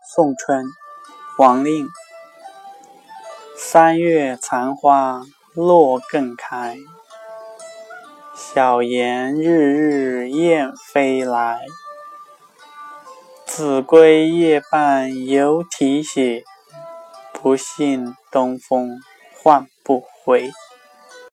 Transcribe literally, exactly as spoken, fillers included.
宋春，王令。三月残花落更开，小檐日日燕飞来。子规夜半犹啼血，不信东风唤不回。